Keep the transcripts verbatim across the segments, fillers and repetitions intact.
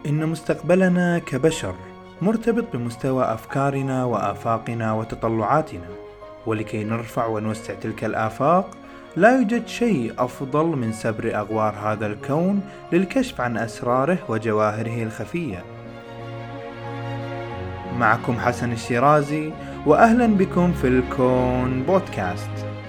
إن مستقبلنا كبشر مرتبط بمستوى أفكارنا وآفاقنا وتطلعاتنا، ولكي نرفع ونوسع تلك الآفاق لا يوجد شيء أفضل من سبر أغوار هذا الكون للكشف عن أسراره وجواهره الخفية. معكم حسن الشيرازي، وأهلا بكم في الكون بودكاست.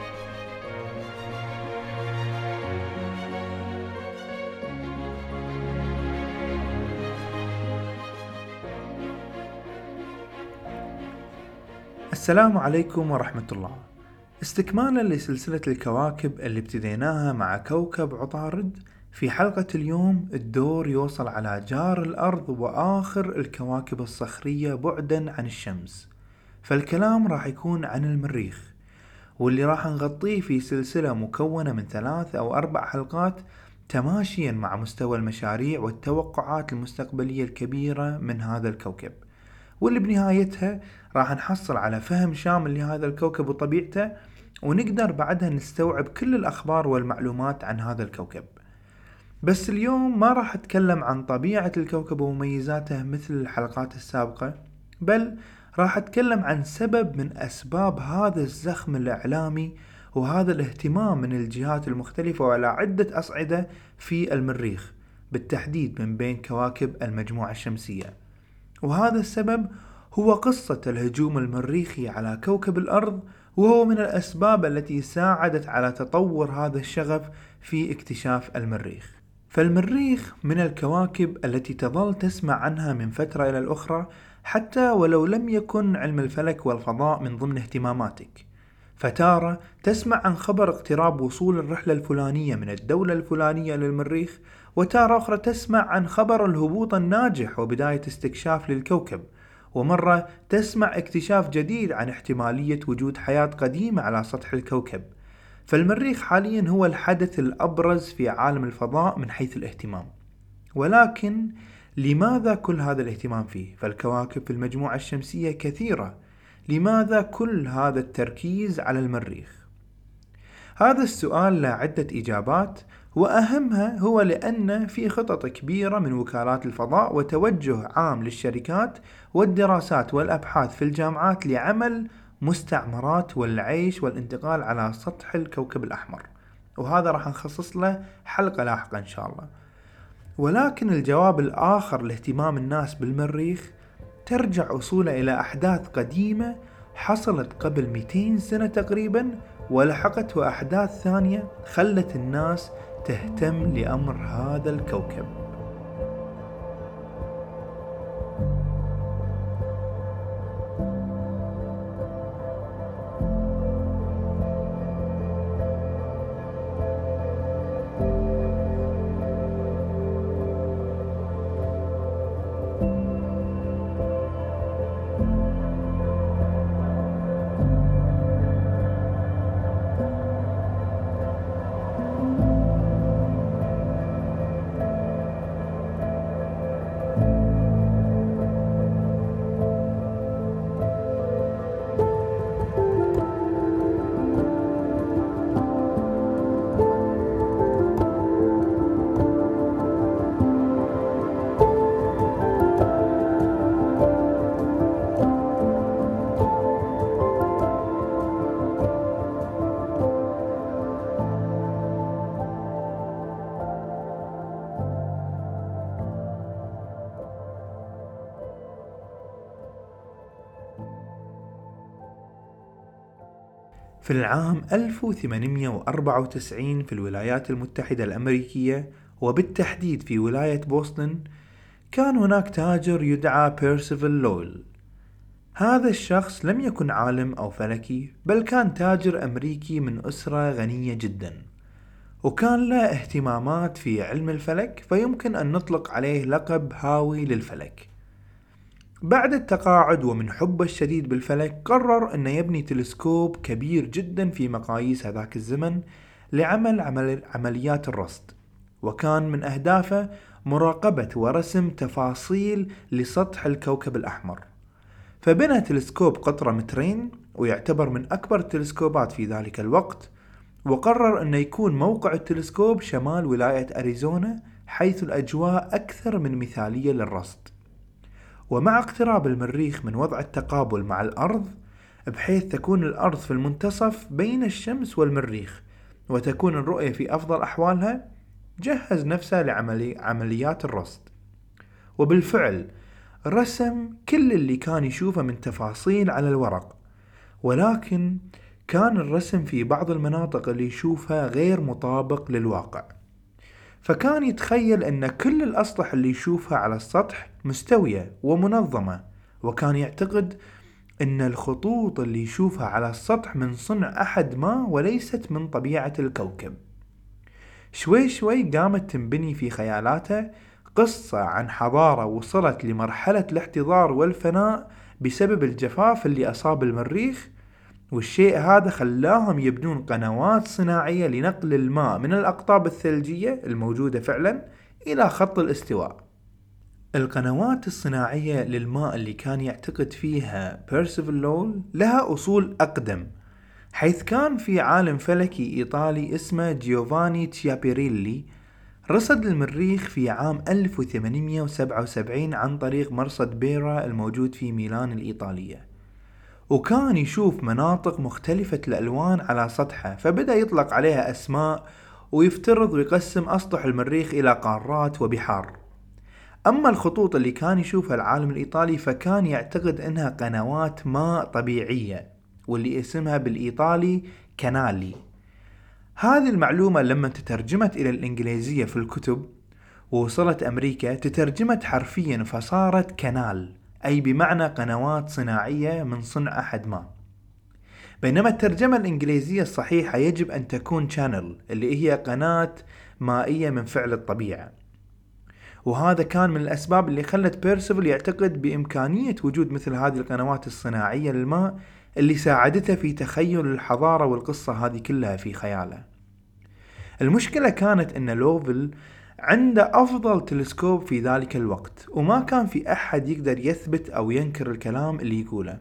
السلام عليكم ورحمة الله. استكمالا لسلسلة الكواكب اللي ابتديناها مع كوكب عطارد، في حلقة اليوم الدور يوصل على جار الأرض وآخر الكواكب الصخرية بعدا عن الشمس، فالكلام راح يكون عن المريخ، واللي راح نغطيه في سلسلة مكونة من ثلاث أو أربع حلقات تماشيا مع مستوى المشاريع والتوقعات المستقبلية الكبيرة من هذا الكوكب، واللي بنهايتها راح نحصل على فهم شامل لهذا الكوكب وطبيعته، ونقدر بعدها نستوعب كل الأخبار والمعلومات عن هذا الكوكب. بس اليوم ما راح أتكلم عن طبيعة الكوكب ومميزاته مثل الحلقات السابقة، بل راح أتكلم عن سبب من أسباب هذا الزخم الإعلامي وهذا الاهتمام من الجهات المختلفة وعلى عدة أصعدة في المريخ، بالتحديد من بين كواكب المجموعة الشمسية. وهذا السبب هو قصة الهجوم المريخي على كوكب الأرض، وهو من الأسباب التي ساعدت على تطور هذا الشغف في اكتشاف المريخ. فالمريخ من الكواكب التي تظل تسمع عنها من فترة إلى الأخرى، حتى ولو لم يكن علم الفلك والفضاء من ضمن اهتماماتك. فتارة تسمع عن خبر اقتراب وصول الرحلة الفلانية من الدولة الفلانية للمريخ، وتارة أخرى تسمع عن خبر الهبوط الناجح وبداية استكشاف للكوكب، ومرة تسمع اكتشاف جديد عن احتمالية وجود حياة قديمة على سطح الكوكب. فالمريخ حاليا هو الحدث الأبرز في عالم الفضاء من حيث الاهتمام. ولكن لماذا كل هذا الاهتمام فيه؟ فالكواكب في المجموعة الشمسية كثيرة، لماذا كل هذا التركيز على المريخ؟ هذا السؤال له عدة إجابات، وأهمها هو لأن في خطط كبيرة من وكالات الفضاء وتوجه عام للشركات والدراسات والأبحاث في الجامعات لعمل مستعمرات والعيش والانتقال على سطح الكوكب الأحمر، وهذا راح نخصص له حلقة لاحقة إن شاء الله. ولكن الجواب الآخر لاهتمام الناس بالمريخ ترجع أصوله إلى أحداث قديمة حصلت قبل مئتين سنة تقريبا، ولحقته أحداث ثانية خلت الناس تهتم لأمر هذا الكوكب. في العام ألف وثمانمئة وأربعة وتسعين في الولايات المتحدة الأمريكية، وبالتحديد في ولاية بوسطن، كان هناك تاجر يدعى بيرسيفال لويل. هذا الشخص لم يكن عالم أو فلكي، بل كان تاجر أمريكي من أسرة غنية جدا، وكان له اهتمامات في علم الفلك، فيمكن أن نطلق عليه لقب هاوي للفلك. بعد التقاعد ومن حبه الشديد بالفلك، قرر أن يبني تلسكوب كبير جدا في مقاييس هذاك الزمن لعمل عمل عمليات الرصد، وكان من أهدافه مراقبة ورسم تفاصيل لسطح الكوكب الأحمر. فبنى تلسكوب قطره مترين، ويعتبر من أكبر التلسكوبات في ذلك الوقت، وقرر أن يكون موقع التلسكوب شمال ولاية أريزونا، حيث الأجواء أكثر من مثالية للرصد. ومع اقتراب المريخ من وضع التقابل مع الأرض، بحيث تكون الأرض في المنتصف بين الشمس والمريخ وتكون الرؤية في أفضل أحوالها، جهز نفسه لعمليات الرصد. وبالفعل رسم كل اللي كان يشوفه من تفاصيل على الورق، ولكن كان الرسم في بعض المناطق اللي يشوفها غير مطابق للواقع. فكان يتخيل أن كل الأسطح اللي يشوفها على السطح مستوية ومنظمة، وكان يعتقد أن الخطوط اللي يشوفها على السطح من صنع أحد ما وليست من طبيعة الكوكب. شوي شوي قامت تنبني في خيالاته قصة عن حضارة وصلت لمرحلة الاحتضار والفناء بسبب الجفاف اللي أصاب المريخ، والشيء هذا خلاهم يبنون قنوات صناعية لنقل الماء من الأقطاب الثلجية الموجودة فعلا إلى خط الاستواء. القنوات الصناعية للماء اللي كان يعتقد فيها بيرسيفال لول لها أصول أقدم، حيث كان في عالم فلكي إيطالي اسمه جيوفاني تشيابيريلي رصد المريخ في عام ألف وثمانمئة وسبعة وسبعين عن طريق مرصد بيرا الموجود في ميلان الإيطالية، وكان يشوف مناطق مختلفة الألوان على سطحه، فبدأ يطلق عليها أسماء ويفترض ويقسم أسطح المريخ إلى قارات وبحار. أما الخطوط اللي كان يشوفها العالم الإيطالي فكان يعتقد أنها قنوات ماء طبيعية، واللي اسمها بالإيطالي كانالي. هذه المعلومة لما تترجمت إلى الإنجليزية في الكتب ووصلت أمريكا تترجمت حرفيا فصارت كانال، أي بمعنى قنوات صناعية من صنع أحد ما. بينما الترجمة الإنجليزية الصحيحة يجب أن تكون channel، اللي هي قناة مائية من فعل الطبيعة. وهذا كان من الأسباب اللي خلت بيرسيفال يعتقد بإمكانية وجود مثل هذه القنوات الصناعية للماء اللي ساعدته في تخيل الحضارة والقصة هذه كلها في خياله. المشكلة كانت أن لوفل عنده أفضل تلسكوب في ذلك الوقت، وما كان في أحد يقدر يثبت أو ينكر الكلام اللي يقوله،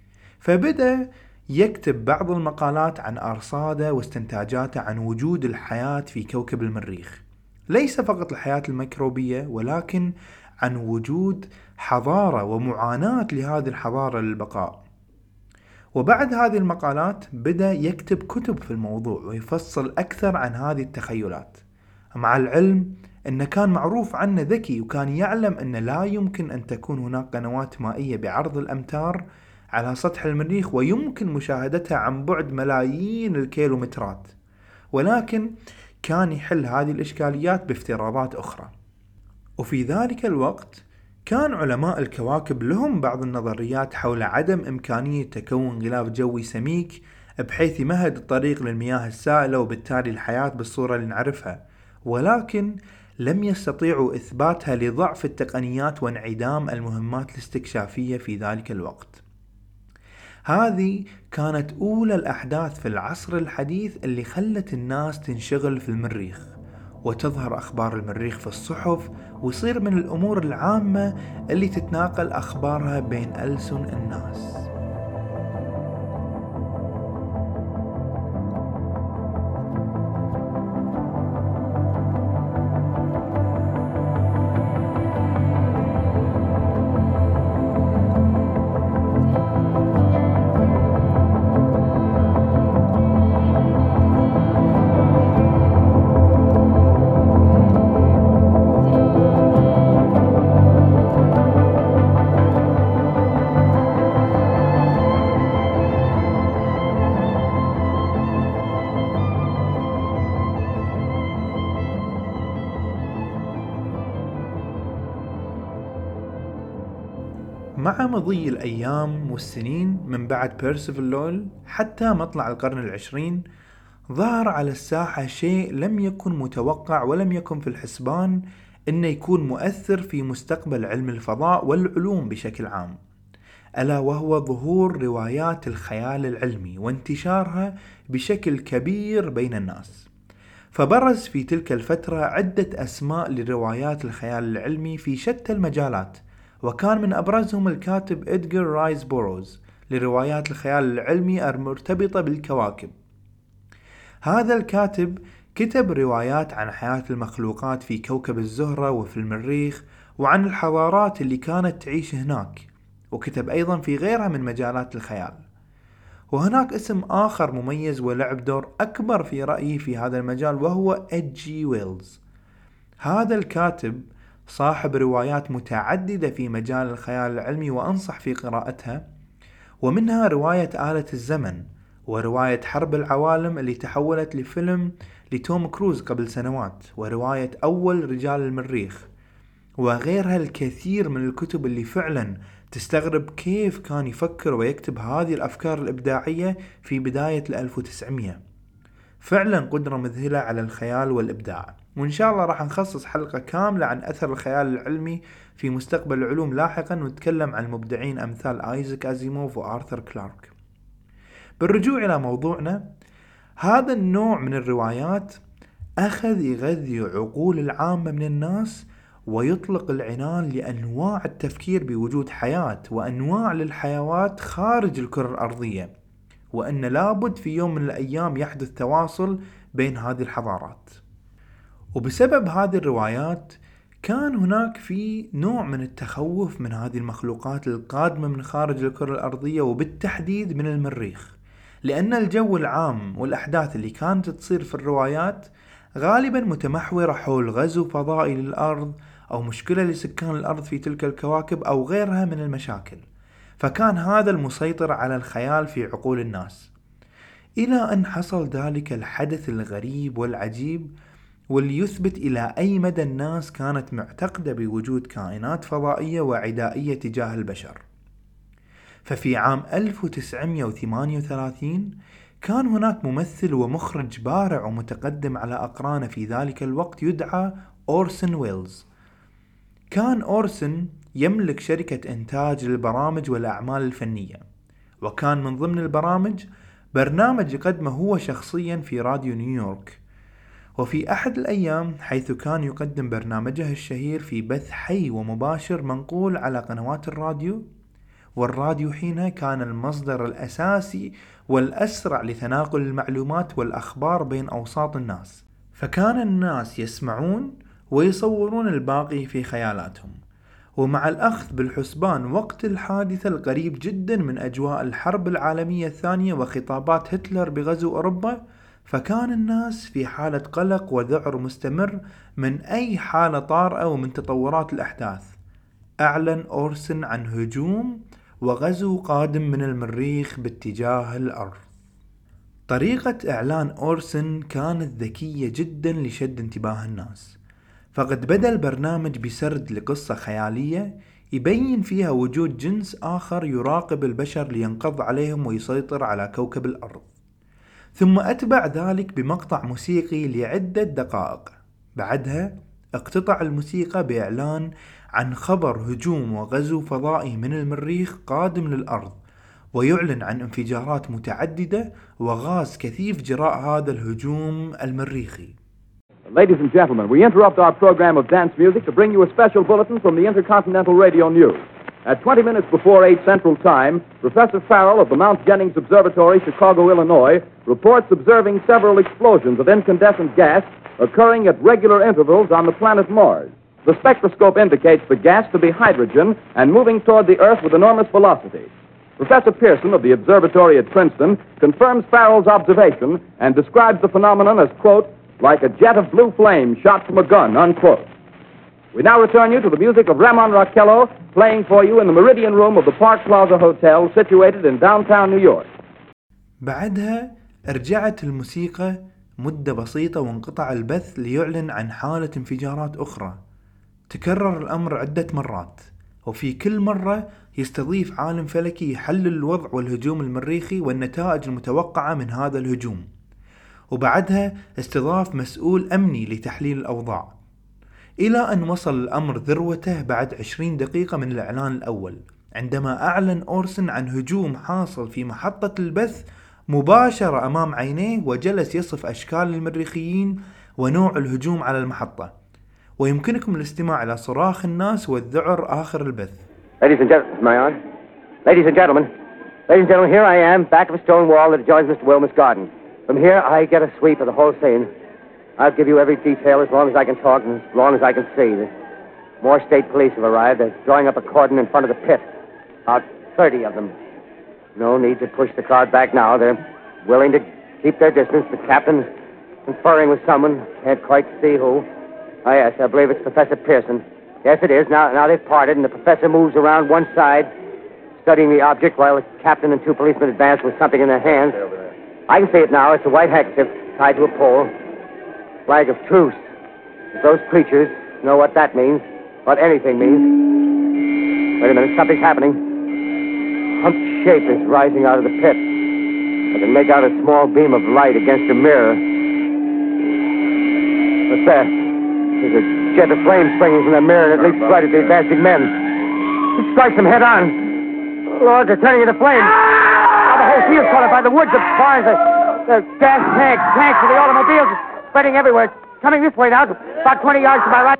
فبدأ يكتب بعض المقالات عن أرصاده واستنتاجاته عن وجود الحياة في كوكب المريخ، ليس فقط الحياة الميكروبية ولكن عن وجود حضارة ومعاناة لهذه الحضارة للبقاء. وبعد هذه المقالات بدأ يكتب كتب في الموضوع ويفصل أكثر عن هذه التخيلات، مع العلم أنه كان معروف عنه ذكي، وكان يعلم أن لا يمكن أن تكون هناك قنوات مائية بعرض الأمتار على سطح المريخ ويمكن مشاهدتها عن بعد ملايين الكيلومترات، ولكن كان يحل هذه الإشكاليات بافتراضات أخرى. وفي ذلك الوقت كان علماء الكواكب لهم بعض النظريات حول عدم إمكانية تكون غلاف جوي سميك بحيث يمهد الطريق للمياه السائلة وبالتالي الحياة بالصورة اللي نعرفها، ولكن لم يستطيعوا إثباتها لضعف التقنيات وانعدام المهمات الاستكشافية في ذلك الوقت. هذه كانت أولى الأحداث في العصر الحديث اللي خلت الناس تنشغل في المريخ، وتظهر أخبار المريخ في الصحف، ويصير من الأمور العامة اللي تتناقل أخبارها بين ألسن الناس. مع مضي الأيام والسنين من بعد بيرسيفال لول حتى مطلع القرن العشرين، ظهر على الساحة شيء لم يكن متوقع ولم يكن في الحسبان إنه يكون مؤثر في مستقبل علم الفضاء والعلوم بشكل عام، ألا وهو ظهور روايات الخيال العلمي وانتشارها بشكل كبير بين الناس. فبرز في تلك الفترة عدة أسماء لروايات الخيال العلمي في شتى المجالات، وكان من أبرزهم الكاتب إدغار رايس بوروز لروايات الخيال العلمي المرتبطة بالكواكب. هذا الكاتب كتب روايات عن حياة المخلوقات في كوكب الزهرة وفي المريخ وعن الحضارات اللي كانت تعيش هناك، وكتب أيضا في غيرها من مجالات الخيال. وهناك اسم آخر مميز ولعب دور أكبر في رأيي في هذا المجال، وهو إتش جي ويلز. هذا الكاتب صاحب روايات متعددة في مجال الخيال العلمي وأنصح في قراءتها، ومنها رواية آلة الزمن، ورواية حرب العوالم اللي تحولت لفيلم لتوم كروز قبل سنوات، ورواية أول رجال المريخ، وغيرها الكثير من الكتب اللي فعلا تستغرب كيف كان يفكر ويكتب هذه الأفكار الإبداعية في بداية الألف وتسعمية. فعلا قدرة مذهلة على الخيال والإبداع. وإن شاء الله راح نخصص حلقة كاملة عن أثر الخيال العلمي في مستقبل العلوم لاحقا، ونتكلم عن المبدعين أمثال آيزاك أزيموف وآرثر كلارك. بالرجوع إلى موضوعنا، هذا النوع من الروايات أخذ يغذي عقول العامة من الناس ويطلق العنان لأنواع التفكير بوجود حياة وأنواع للحيوات خارج الكرة الأرضية، وأن لابد في يوم من الأيام يحدث تواصل بين هذه الحضارات. وبسبب هذه الروايات كان هناك في نوع من التخوف من هذه المخلوقات القادمة من خارج الكرة الأرضية، وبالتحديد من المريخ، لأن الجو العام والأحداث اللي كانت تصير في الروايات غالبا متمحورة حول غزو فضائي للأرض أو مشكلة لسكان الأرض في تلك الكواكب أو غيرها من المشاكل. فكان هذا المسيطر على الخيال في عقول الناس، إلى أن حصل ذلك الحدث الغريب والعجيب واللي يثبت إلى أي مدى الناس كانت معتقدة بوجود كائنات فضائية وعدائية تجاه البشر. ففي عام ألف وتسعمية وثمانية وثلاثين كان هناك ممثل ومخرج بارع ومتقدم على أقرانه في ذلك الوقت يدعى أورسون ويلز. كان أورسون يملك شركة إنتاج للبرامج والأعمال الفنية، وكان من ضمن البرامج برنامج يقدمه هو شخصيا في راديو نيويورك. وفي أحد الأيام حيث كان يقدم برنامجه الشهير في بث حي ومباشر منقول على قنوات الراديو، والراديو حينها كان المصدر الأساسي والأسرع لتناقل المعلومات والأخبار بين أوساط الناس، فكان الناس يسمعون ويصورون الباقي في خيالاتهم. ومع الأخذ بالحسبان وقت الحادثة القريب جدا من أجواء الحرب العالمية الثانية وخطابات هتلر بغزو أوروبا، فكان الناس في حالة قلق وذعر مستمر من أي حالة طارئة ومن تطورات الأحداث. أعلن أورسون عن هجوم وغزو قادم من المريخ باتجاه الأرض. طريقة إعلان أورسون كانت ذكية جدا لشد انتباه الناس، فقد بدأ البرنامج بسرد لقصة خيالية يبين فيها وجود جنس آخر يراقب البشر لينقض عليهم ويسيطر على كوكب الأرض، ثم أتبع ذلك بمقطع موسيقي لعدة دقائق. بعدها اقتطع الموسيقى بإعلان عن خبر هجوم وغزو فضائي من المريخ قادم للأرض، ويعلن عن انفجارات متعددة وغاز كثيف جراء هذا الهجوم المريخي. Ladies and gentlemen, we interrupt our program of dance music to bring you a special bulletin from the Intercontinental Radio News. At twenty minutes before eight Central Time, Professor Farrell of the Mount Jennings Observatory, Chicago, Illinois, reports observing several explosions of incandescent gas occurring at regular intervals on the planet Mars. The spectroscope indicates the gas to be hydrogen and moving toward the Earth with enormous velocity. Professor Pearson of the observatory at Princeton confirms Farrell's observation and describes the phenomenon as, quote, like a jet of blue flame shot from a gun, unquote. We now return you to the music of Ramon Raquello, playing for you in the Meridian Room of the Park Plaza Hotel, situated in downtown New York. بعدها رجعت الموسيقى مدة بسيطة وانقطع البث ليعلن عن حالة انفجارات أخرى. تكرر الأمر عدة مرات، وفي كل مرة يستضيف عالم فلكي يحلل الوضع والهجوم المريخي والنتائج المتوقعة من هذا الهجوم، وبعدها استضاف مسؤول أمني لتحليل الأوضاع، إلى أن وصل الأمر ذروته بعد عشرين دقيقة من الإعلان الأول، عندما أعلن أورسون عن هجوم حاصل في محطة البث مباشرة أمام عينيه، وجلس يصف أشكال المريخيين ونوع الهجوم على المحطة. ويمكنكم الاستماع إلى صراخ الناس والذعر آخر البث. Ladies and gentlemen, am I on? Ladies and gentlemen, ladies and gentlemen, here I am, back of a stone wall that adjoins Mister Wilmer's garden. From here, I get a sweep of the whole scene. I'll give you every detail as long as I can talk and as long as I can see. The more state police have arrived. They're drawing up a cordon in front of the pit. About thirty of them. No need to push the crowd back now. They're willing to keep their distance. The captain's conferring with someone. Can't quite see who. Oh, yes, I believe it's Professor Pearson. Yes, it is. Now, now they've parted, and the professor moves around one side, studying the object, while the captain and two policemen advance with something in their hands. I can see it now. It's a white handkerchief tied to a pole. Flag of truce. If those creatures know what that means, what anything means. Wait a minute, something's happening. Humped shape is rising out of the pit. I can make out a small beam of light against a mirror. What's that? There's a jet of flame springing from the mirror and it leaps right at the advancing men. It strikes them head on. Lord, they're turning into flames. Now the whole field's caught up by the woods, the barns, the, the gas tanks, tanks for the automobiles, spreading everywhere. It's coming this way now, about twenty yards to my right.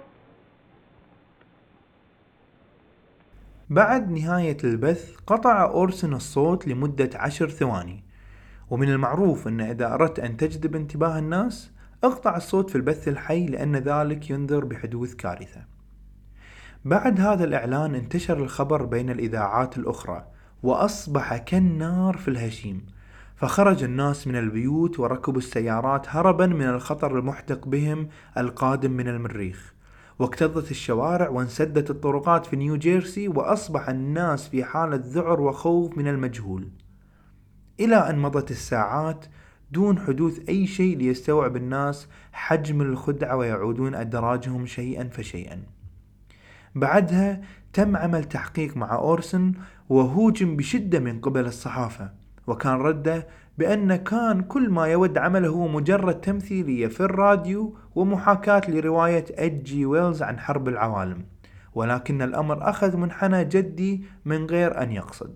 بعد نهاية البث قطع أورسن الصوت لمدة عشر ثواني، ومن المعروف أن إذا أردت أن تجذب انتباه الناس اقطع الصوت في البث الحي لأن ذلك ينذر بحدوث كارثة. بعد هذا الإعلان انتشر الخبر بين الإذاعات الأخرى وأصبح كالنار في الهشيم، فخرج الناس من البيوت وركبوا السيارات هربا من الخطر المحدق بهم القادم من المريخ، واكتظت الشوارع وانسدت الطرقات في نيوجيرسي، وأصبح الناس في حالة ذعر وخوف من المجهول، إلى أن مضت الساعات دون حدوث أي شيء ليستوعب الناس حجم الخدعة ويعودون أدراجهم شيئا فشيئا. بعدها تم عمل تحقيق مع أورسن وهوجم بشدة من قبل الصحافة، وكان رده بأن كان كل ما يود عمله هو مجرد تمثيلية في الراديو ومحاكاة لرواية إتش جي ويلز عن حرب العوالم، ولكن الأمر أخذ منحنى جدي من غير أن يقصد.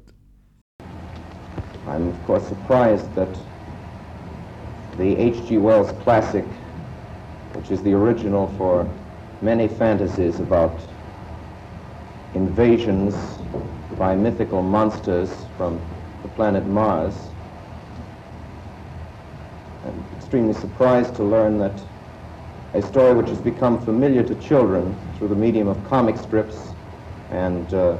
I'm of course surprised that the H G Wells classic, which is the original for many fantasies about invasions by mythical monsters from the planet Mars, I'm extremely surprised to learn that a story which has become familiar to children through the medium of comic strips and uh,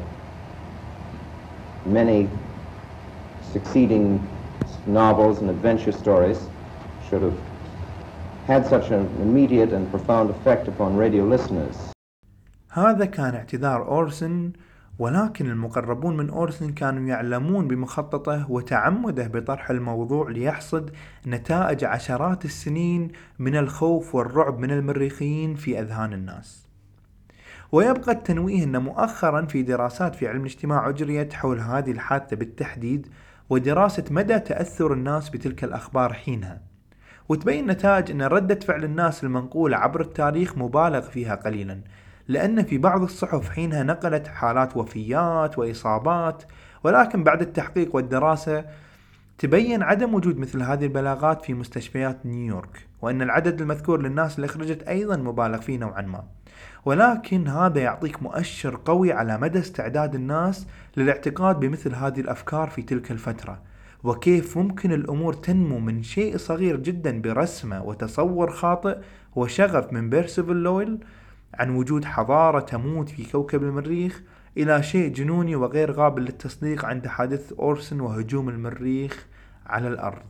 many succeeding novels and adventure stories should have had such an immediate and profound effect upon radio listeners. هذا كان اعتذار أورسن، ولكن المقربون من أورسن كانوا يعلمون بمخططه وتعمده بطرح الموضوع ليحصد نتائج عشرات السنين من الخوف والرعب من المريخيين في أذهان الناس. ويبقى التنويه أن مؤخرا في دراسات في علم الاجتماع أجريت حول هذه الحادثة بالتحديد، ودراسة مدى تأثر الناس بتلك الأخبار حينها، وتبين نتائج أن ردة فعل الناس المنقولة عبر التاريخ مبالغ فيها قليلا، لأن في بعض الصحف حينها نقلت حالات وفيات وإصابات، ولكن بعد التحقيق والدراسة تبين عدم وجود مثل هذه البلاغات في مستشفيات نيويورك، وأن العدد المذكور للناس اللي خرجت أيضا مبالغ فيه نوعا ما. ولكن هذا يعطيك مؤشر قوي على مدى استعداد الناس للاعتقاد بمثل هذه الأفكار في تلك الفترة، وكيف ممكن الأمور تنمو من شيء صغير جدا برسمة وتصور خاطئ وشغف من بيرسيفل لويل عن وجود حضارة تموت في كوكب المريخ إلى شيء جنوني وغير قابل للتصديق عند حادث أورسن وهجوم المريخ على الأرض.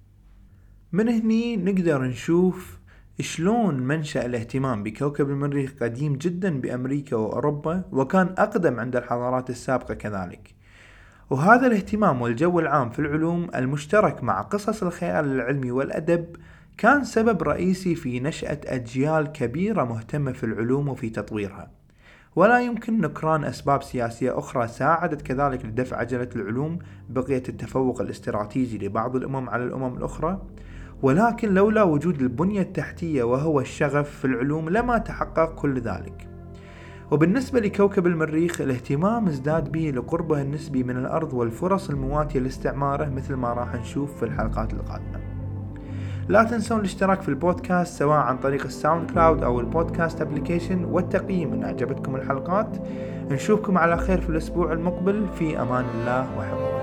من هني نقدر نشوف شلون منشأ الاهتمام بكوكب المريخ قديم جدا بأمريكا وأوروبا، وكان أقدم عند الحضارات السابقة كذلك. وهذا الاهتمام والجو العام في العلوم المشترك مع قصص الخيال العلمي والأدب كان سبب رئيسي في نشأة أجيال كبيرة مهتمة في العلوم وفي تطويرها. ولا يمكن نكران أسباب سياسية أخرى ساعدت كذلك لدفع عجلة العلوم بقية التفوق الاستراتيجي لبعض الأمم على الأمم الأخرى، ولكن لولا وجود البنية التحتية وهو الشغف في العلوم لما تحقق كل ذلك. وبالنسبة لكوكب المريخ الاهتمام ازداد به لقربه النسبي من الأرض والفرص المواتية لاستعماره، مثل ما راح نشوف في الحلقات القادمة. لا تنسون الاشتراك في البودكاست سواء عن طريق الساوند كلاود أو البودكاست ابليكيشن، والتقييم إن أعجبتكم الحلقات. نشوفكم على خير في الأسبوع المقبل، في أمان الله وحفظه.